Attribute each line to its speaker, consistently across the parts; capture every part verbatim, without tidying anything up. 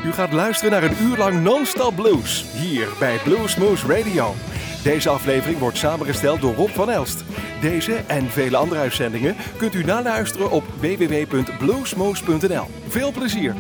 Speaker 1: U gaat luisteren naar een uur lang non-stop blues, hier bij Bluesmoose Radio. Deze aflevering wordt samengesteld door Rob van Elst. Deze en vele andere uitzendingen kunt u naluisteren op w w w punt bluesmoose punt n l. Veel plezier!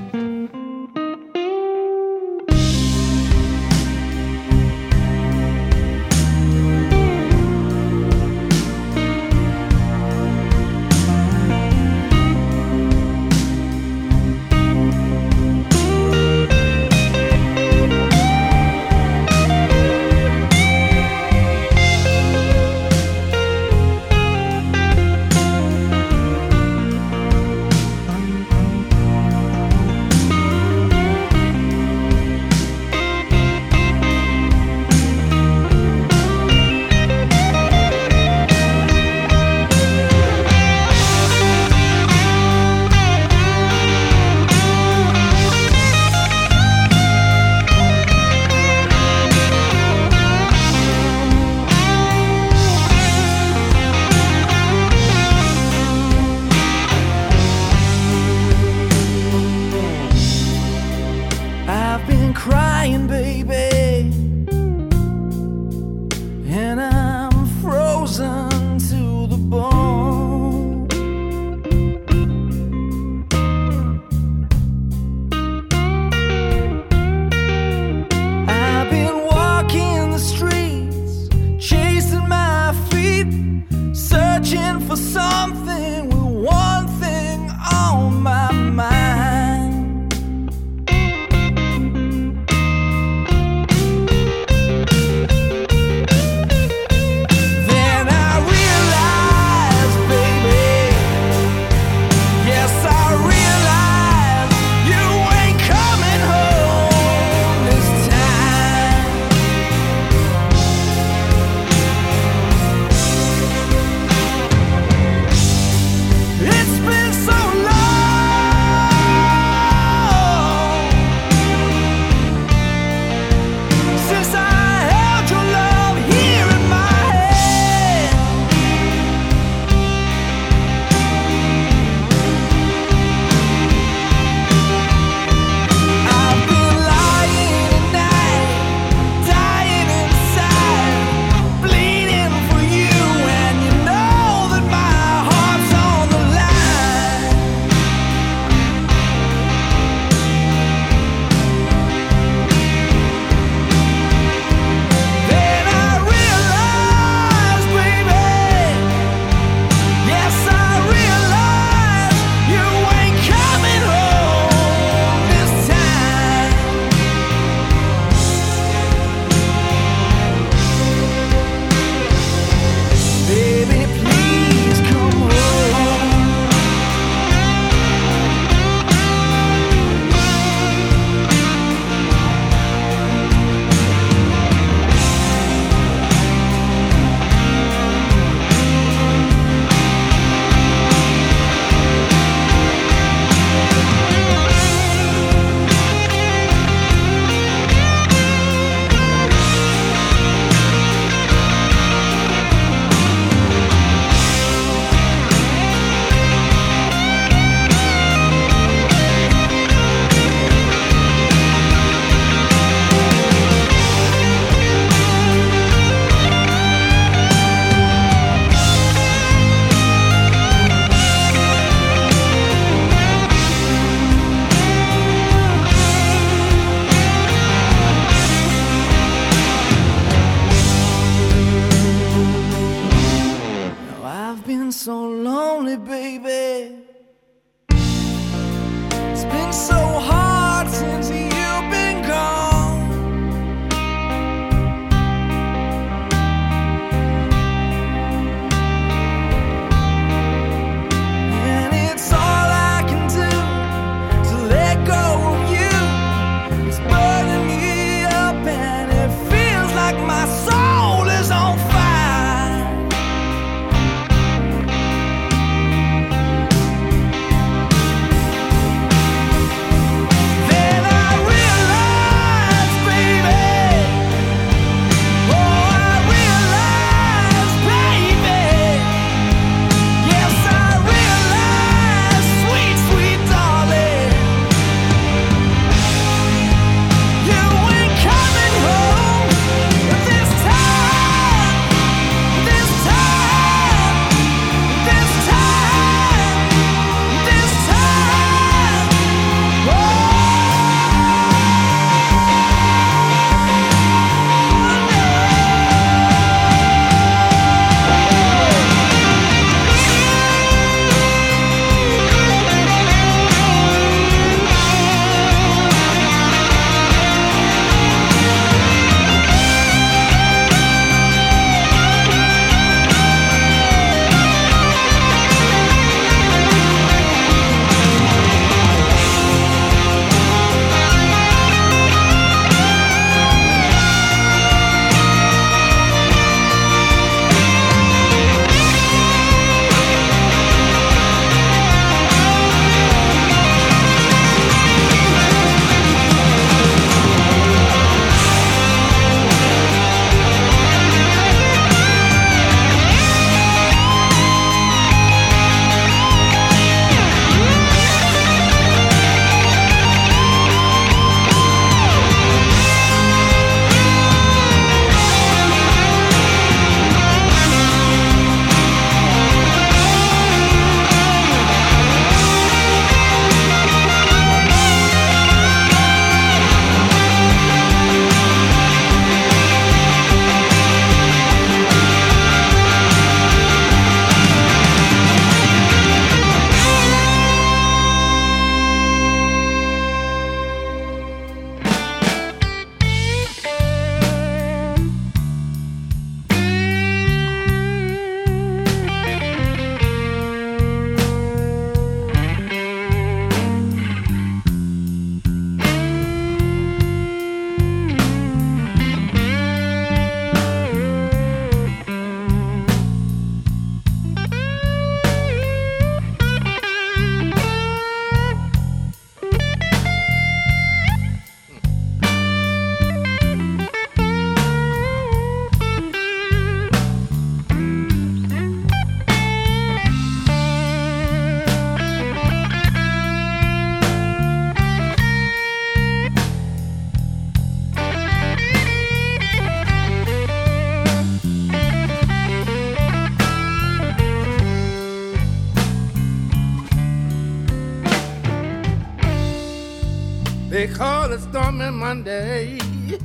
Speaker 2: They call it stormy Monday,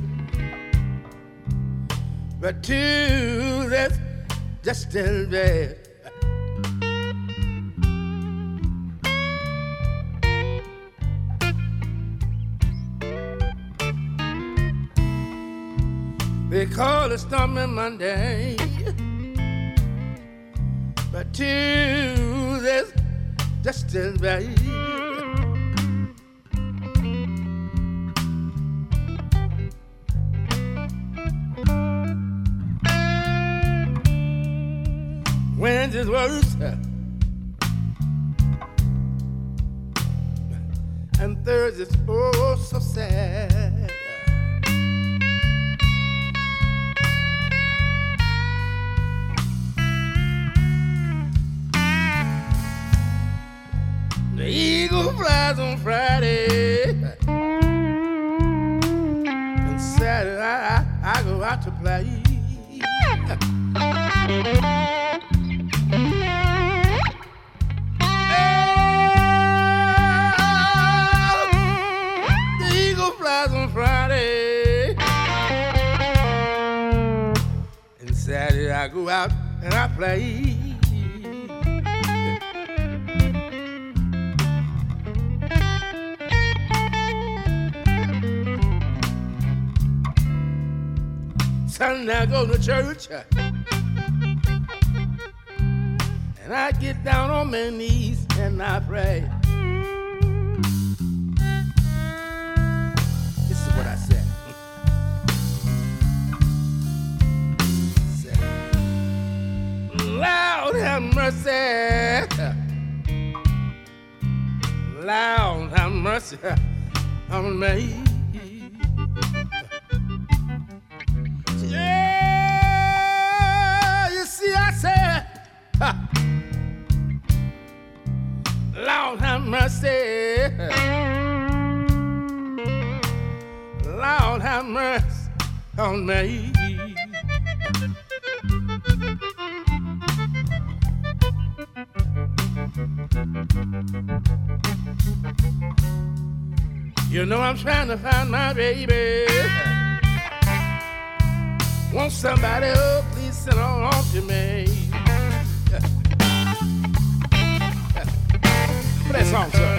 Speaker 2: but Tuesday's just as bad. They call it stormy Monday, but Tuesday's just as bad. Wednesday's worse, and Thursday's oh so sad. The eagle flies on Friday, and Saturday I, I, I go out to play. The eagle flies on Friday, and Saturday I go out and I play. Sunday I go to church, and I get down on my knees and I pray. This is what I said. said Lord have mercy, Lord have mercy on me. Yeah, you see, I said, ha. Lord have mercy, Lord have mercy on me. You know I'm trying to find my baby. Want somebody, oh, please send her on to me. Play that song, sir.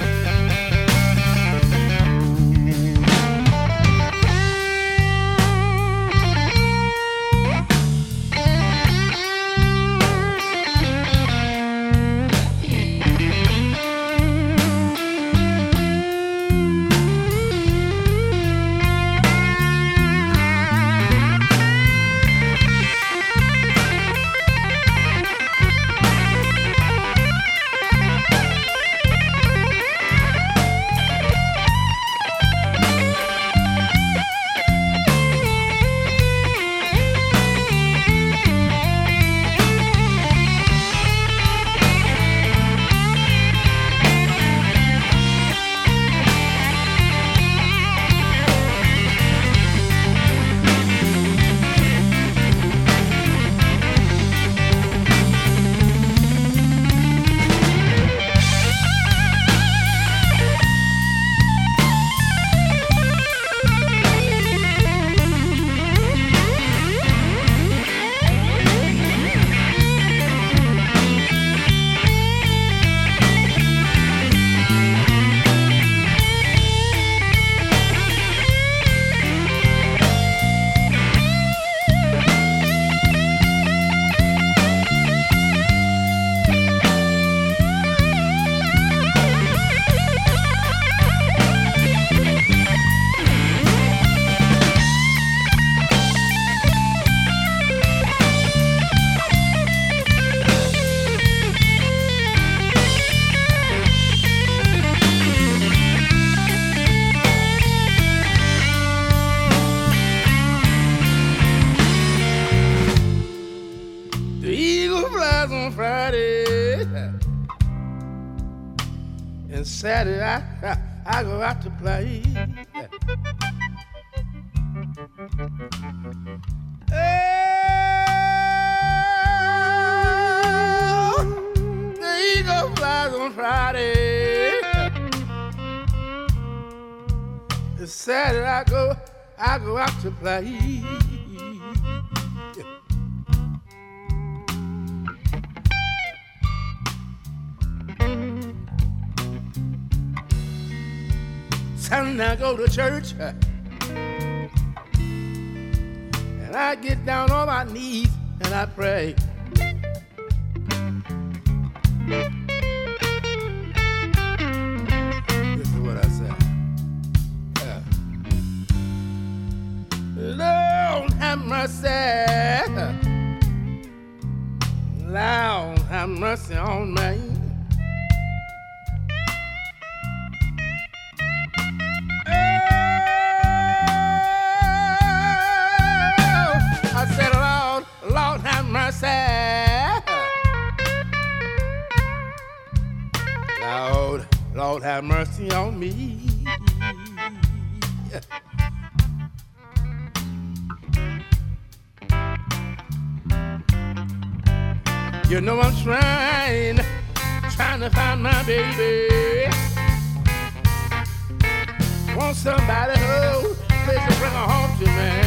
Speaker 2: Saturday I, I, I go out to play. Oh, the eagle flies on Friday, It's sad that I go, I go out to play. Sunday I go to church, and I get down on my knees and I pray. This is what I say. Yeah. Lord have mercy, Lord have mercy on me. Lord have mercy, Lord, Lord have mercy on me. You know I'm trying, trying to find my baby. Want somebody who please to bring her home to me.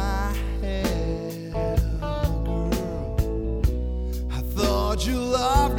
Speaker 3: You love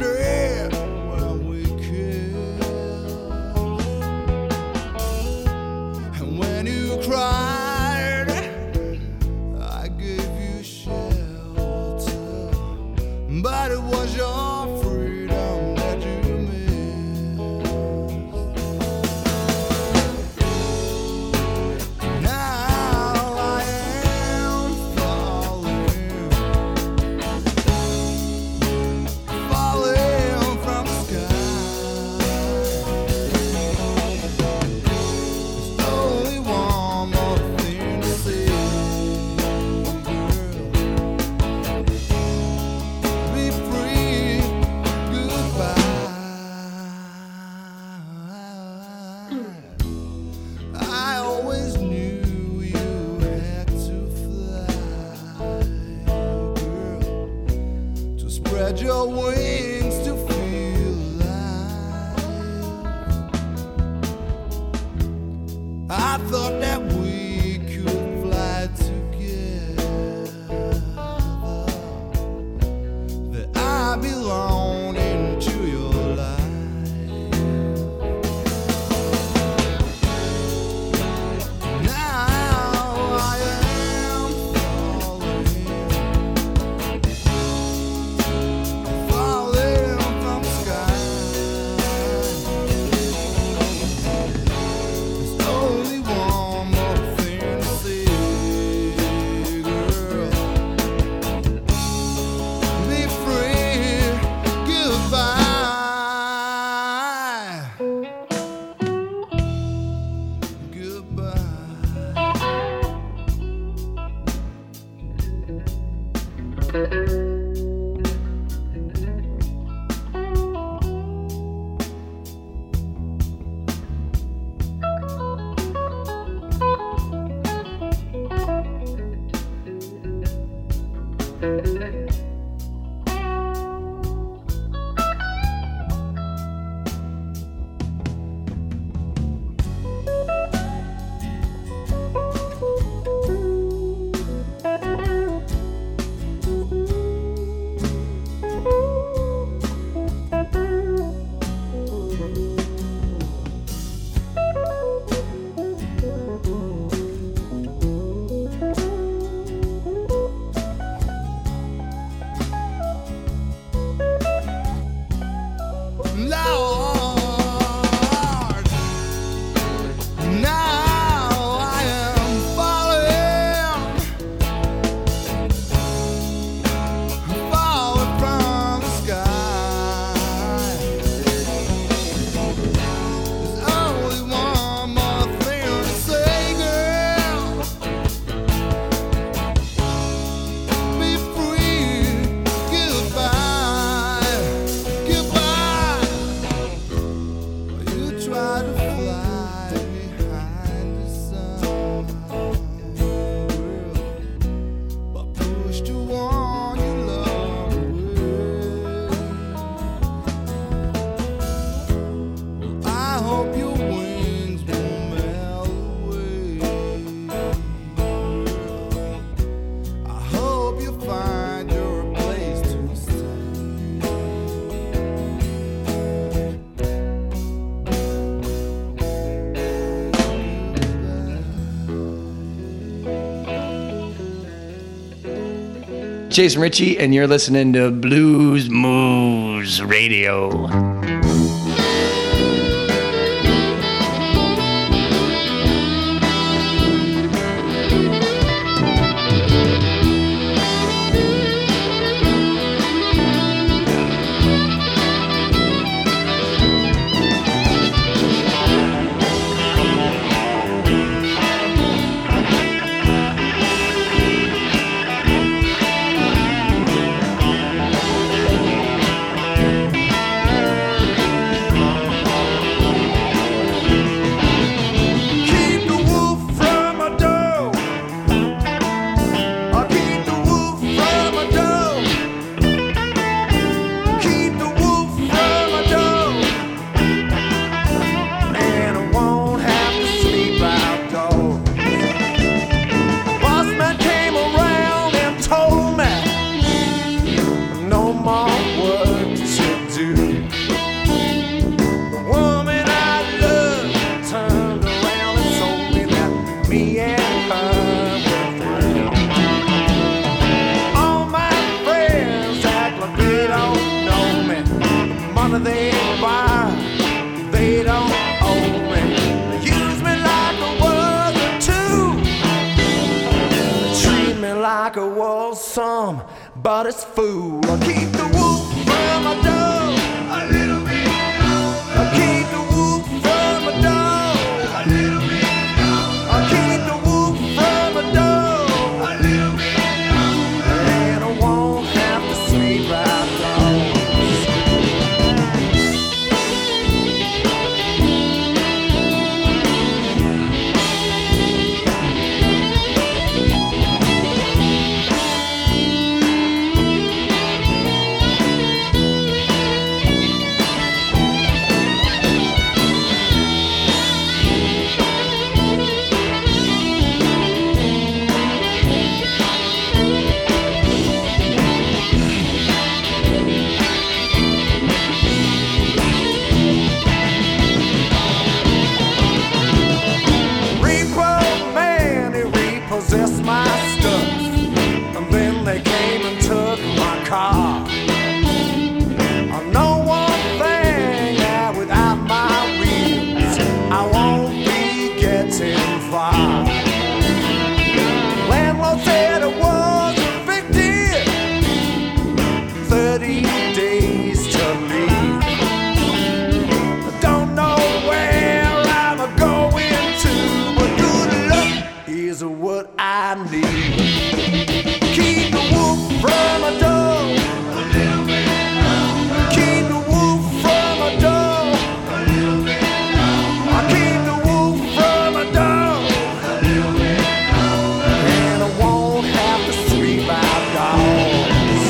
Speaker 3: your wings to feel alive. I thought that we could fly together, that I belong into your life.
Speaker 4: Jason Ritchie, and you're listening to Blues Moose Radio.
Speaker 3: But it's fool. I keep the wolf from my dog a little bit longer. I keep the wolf from my dog a little bit longer. I keep the wolf from my dog a little bit longer. And I won't have to sleep outdoors. lost my stuff, and then they came and took my car. I know one thing, that without my wheels, I won't be getting far. Landlord said it was a big deal, thirty days to leave. I don't know where I'm going to, but good luck is what I need. Keep the wolf from a dove, a little bit longer. Keep the wolf from a dove, a little bit longer. I keep the wolf from a dove, a little bit longer. And I won't have to sweep out dogs.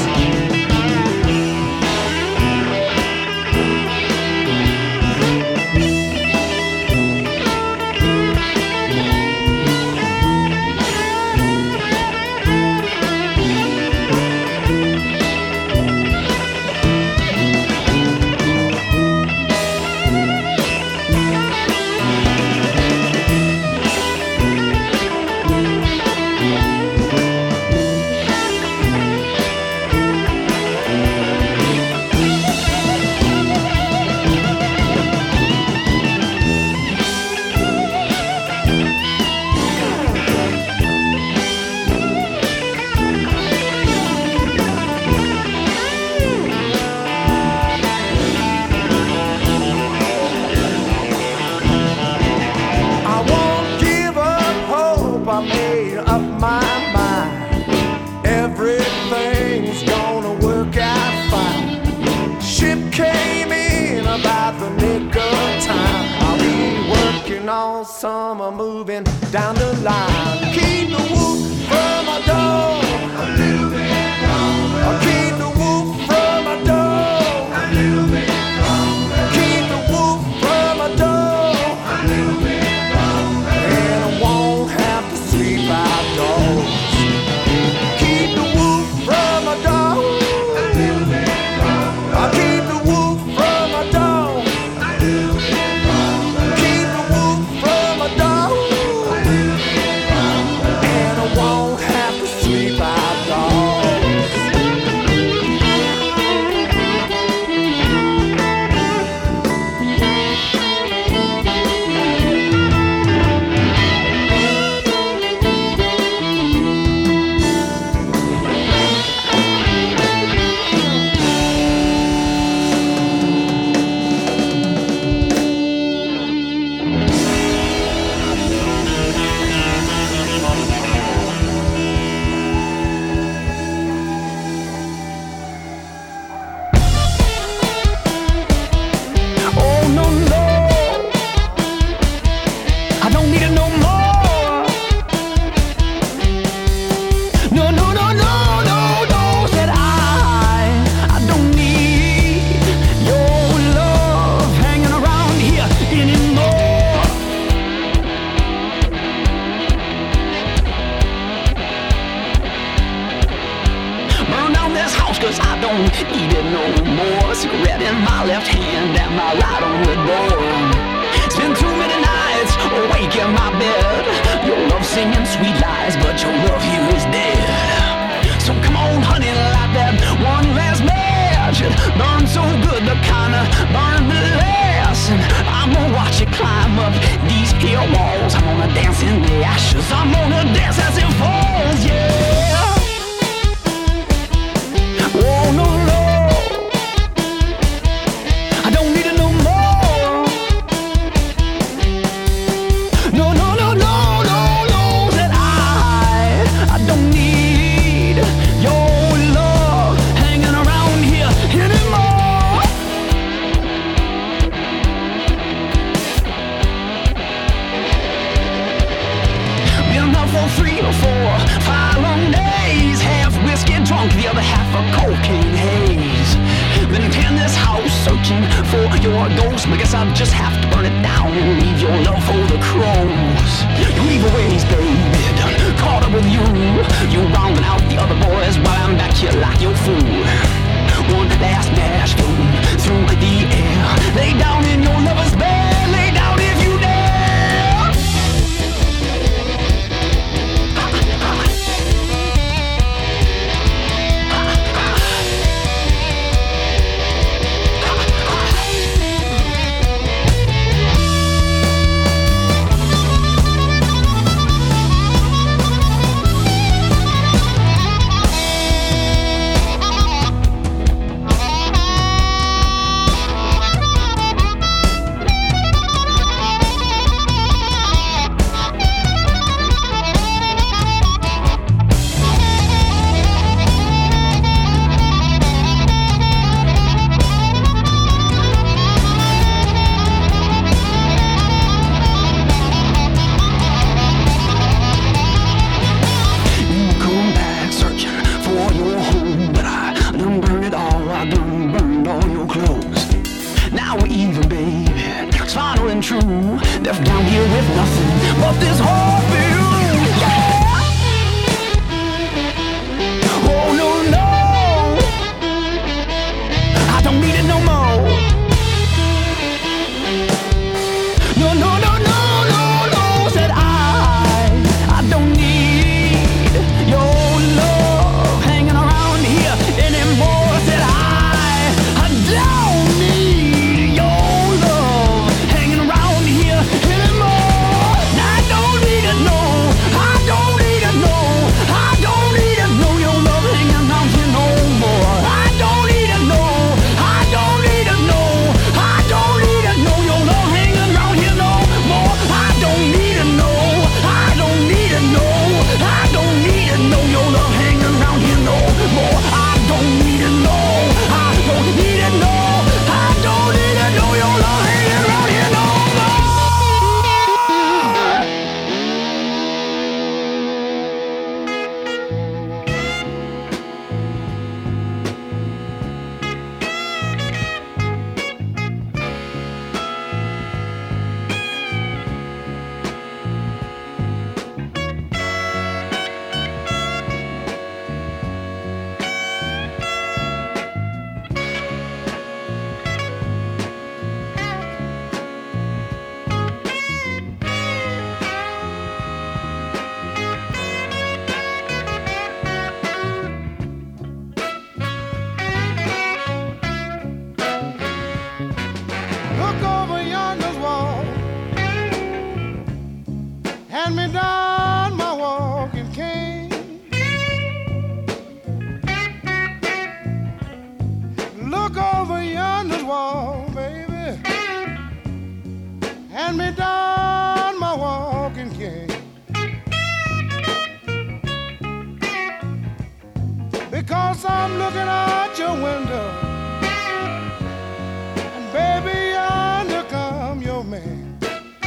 Speaker 3: I won't give up hope, I made up my mind. Everything's gonna work out fine. Ship came in about the nick of time. I'll be working all summer, moving down the line. Keep the wolf from my door, a little bit longer. I'll keep the wolf from my door, a little bit longer. Keep the wolf from my door, a little bit longer. And I won't have to sleep outdoors. Keep the wolf from my door, a little bit longer. I'll keep the wolf from my door, a little bit longer. Keep the wolf from my door, a little bit longer. And I won't have to sleep outdoors. Oh no no, I don't need it no more. No no no no no no, said I. I don't need your love hanging around here anymore. Burn down this house 'cause I don't need it no more. Cigarette in my left hand and my right on the door. Spend too many nights awake in my bed. Your love singing sweet lies, but your love here is dead. So come on, honey, light that one last match. It burns so good, the kinda burn the last. And I'm gonna watch it climb up these here walls. I'm gonna dance in the ashes. I'm gonna dance as it falls, yeah. Oh no no, I don't need it no more. No no no no no no, that I I don't need your love hanging around here anymore. Been up for three or four, five long days. Half whiskey drunk, the other half a cocaine haze. Been in this house searching for your ghost. I guess I'll just have to burn it down and leave your love for the crows. You leave a ways, baby, done caught up with you. You rounding out the other boys while I'm back here like your fool. One last dash through the air. Lay down in your lover's bed. Lay down if you dare. Yes, I'm looking out your window, and baby, yonder come your man.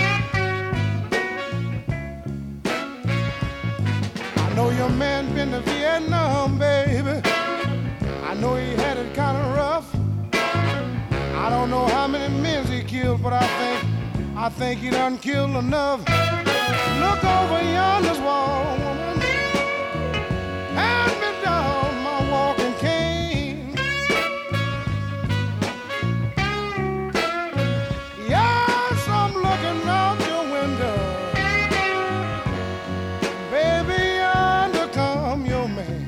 Speaker 3: I know your man been to Vietnam, baby. I know he had it kind of rough. I don't know how many men he killed, but I think, I think he done killed enough. Look over yonder's wall, woman, hand me down my walking cane. Yes, I'm looking out your window, baby, yonder come your man.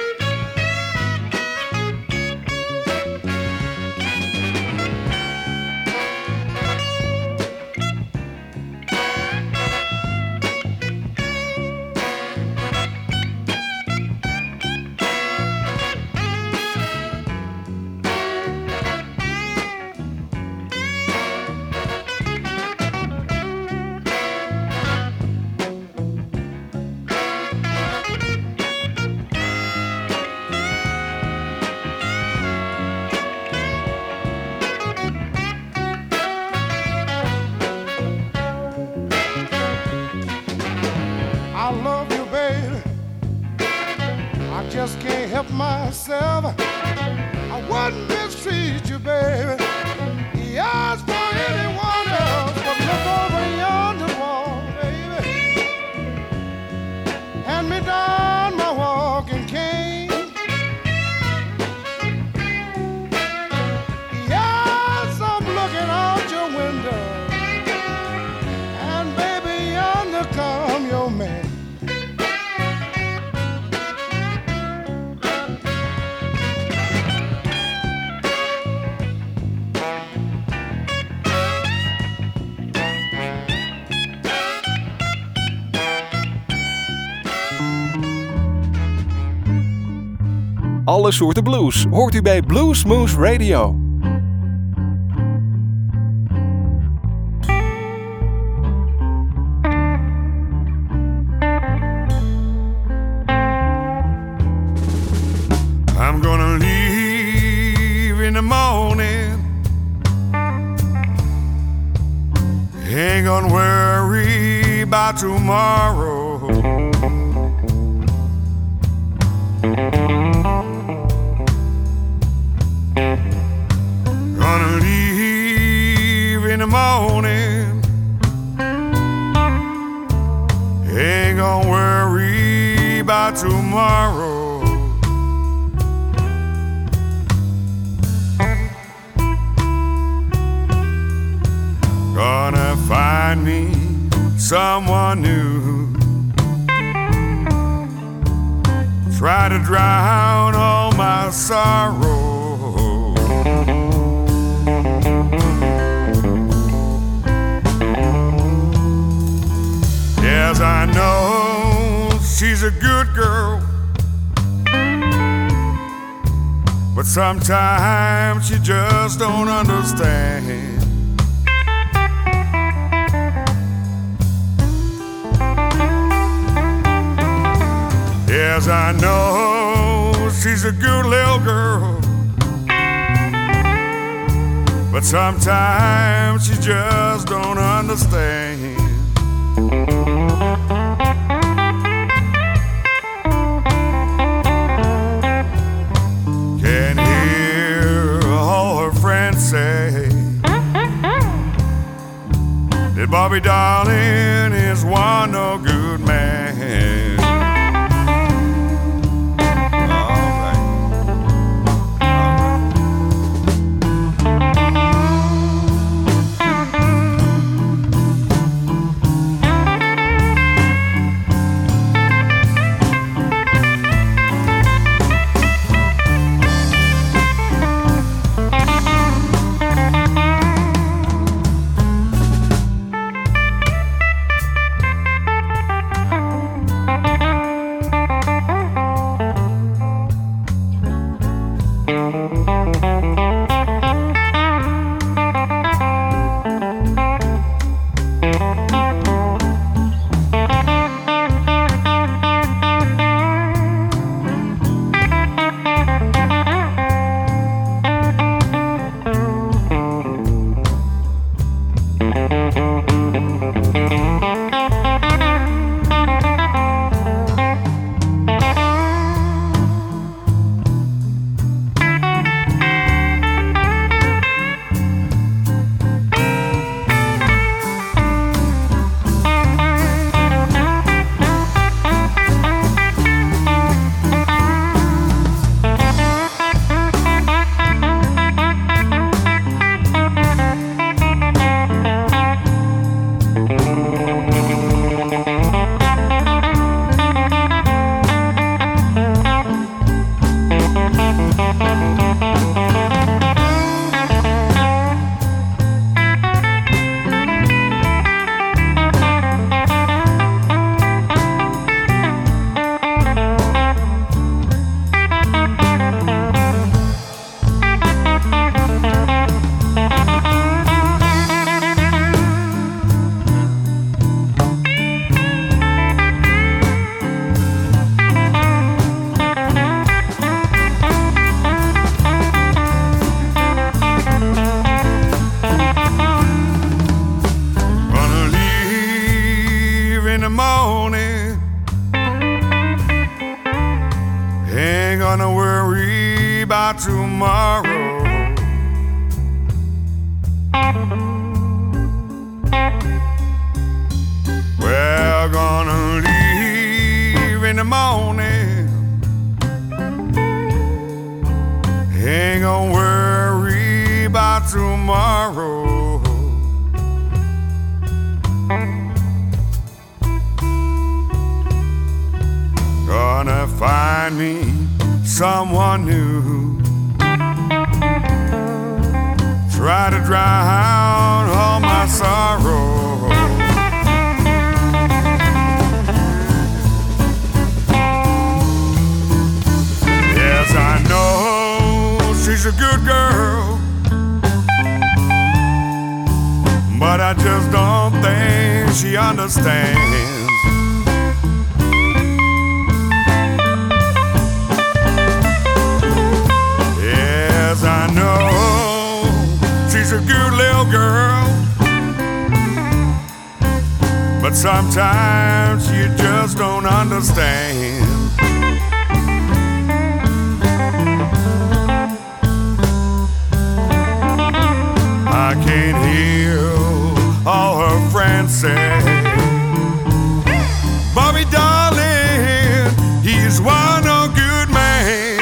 Speaker 3: Just can't help myself. I wouldn't mistreat you, baby. Yes, for anyone else, but look over yonder wall, baby. Hand me down my walking cane. Yes, I'm looking out your window, and baby, yonder come your man.
Speaker 1: Alle soorten blues hoort u bij Blues Moose Radio.
Speaker 2: I'm gonna leave in the morning. Ain't gonna worry about tomorrow. Gonna leave in the morning. Ain't gonna worry about tomorrow. Gonna find me someone new. Try to drown all my sorrow. Yes, I know she's a good girl, but sometimes she just don't understand. Yes, I know she's a good little girl, but sometimes she just don't understand. Can hear all her friends say that Bobby Darling is one no good man.
Speaker 5: gonna worry about tomorrow. We're gonna leave in the morning. Ain't gonna worry about tomorrow. Gonna find me someone new. Try to drown all my sorrow. Yes, I know she's a good girl, but I just don't think she understands. Yes, I know she's a good little girl, but sometimes you just don't understand. I can't hear all her friends say, Bobby darling, he's one a good man.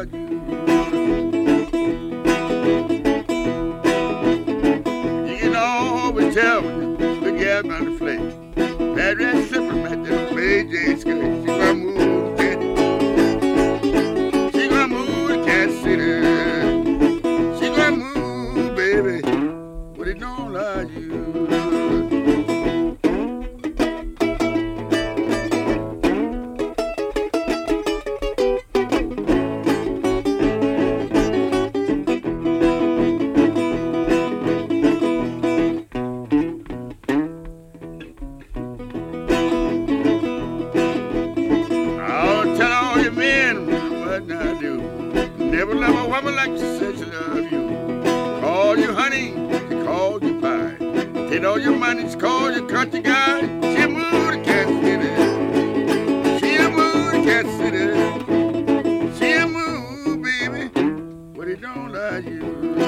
Speaker 6: love you. You can always tell when the gal on the flake. That red slipper met the Bay J skirt. She gonna move to She gonna move to Kansas City. She gonna move, baby, but it don't love you. All your money's called your country guy. She moved to Kansas City. She moved to Kansas City. She moved, baby, but it don't like you.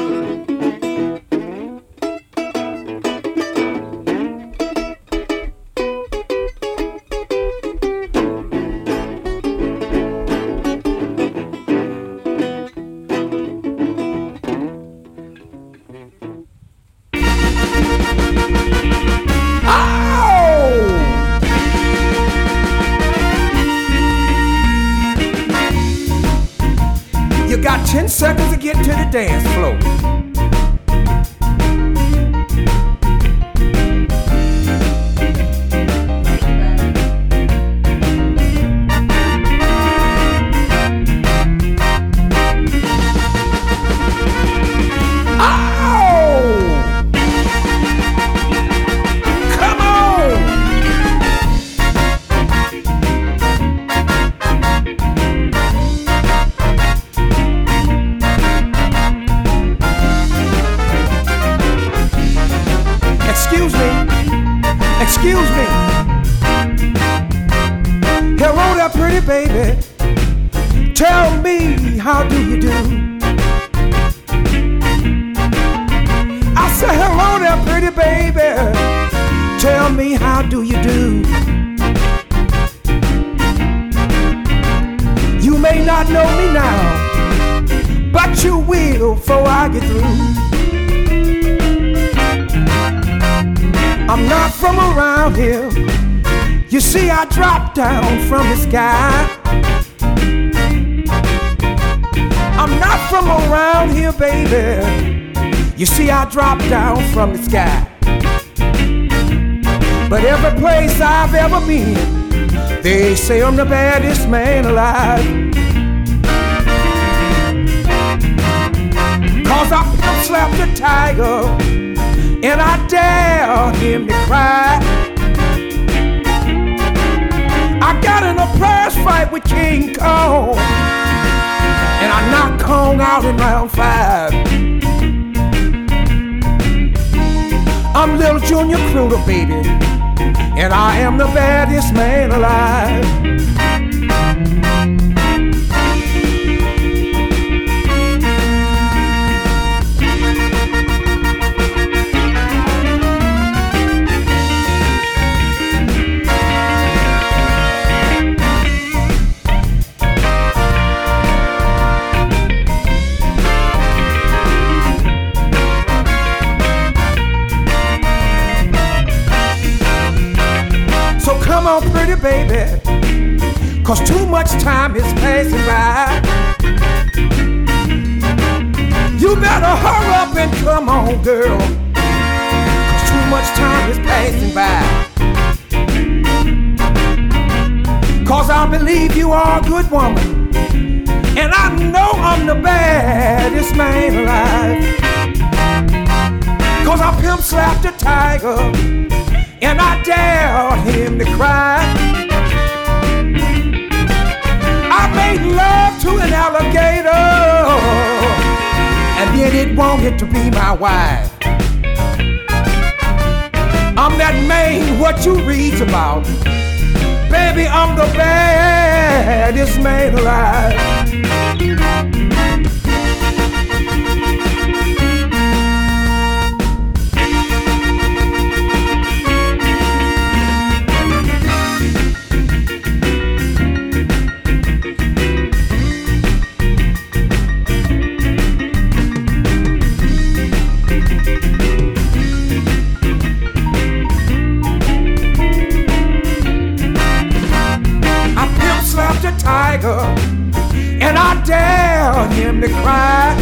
Speaker 3: Ten seconds to get to the dance floor. Excuse me. Hello there, pretty baby. Tell me, how do you do? I said, hello there, pretty baby. Tell me, how do you do? You may not know me now, but you will before I get through. I'm not from around here. You see, I dropped down from the sky. I'm not from around here, baby. You see, I dropped down from the sky. But every place I've ever been, they say I'm the baddest man alive. Cause I slapped a tiger and I dare him to cry. I got in a prize fight with King Kong, and I knocked Kong out in round five. I'm Little Junior Cruder, baby, and I am the baddest man alive. Come on, pretty baby, cause too much time is passing by. You better hurry up and come on, girl, cause too much time is passing by. Cause I believe you are a good woman, and I know I'm the baddest man alive. Cause I pimp slapped a tiger, and I dare him to cry. I made love to an alligator, and then it wanted to be my wife. I'm that man what you read about. Baby, I'm the baddest man alive. tiger, and I dare him to cry.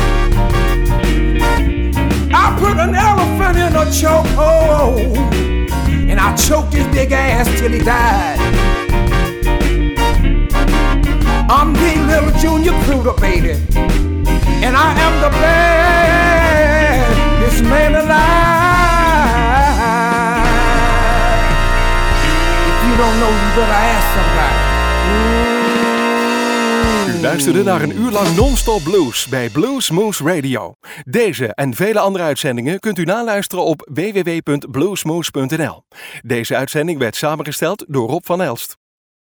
Speaker 3: I put an elephant in a chokehold, and I choked his big ass till he died. I'm the little Junior Pluto, baby, and I am the baddest man alive. If you don't know, you better ask somebody.
Speaker 1: U luisterde naar een uur lang non-stop blues bij Blues Moose Radio. Deze en vele andere uitzendingen kunt u naluisteren op w w w punt bluesmoose punt n l. Deze uitzending werd samengesteld door Rob van Elst.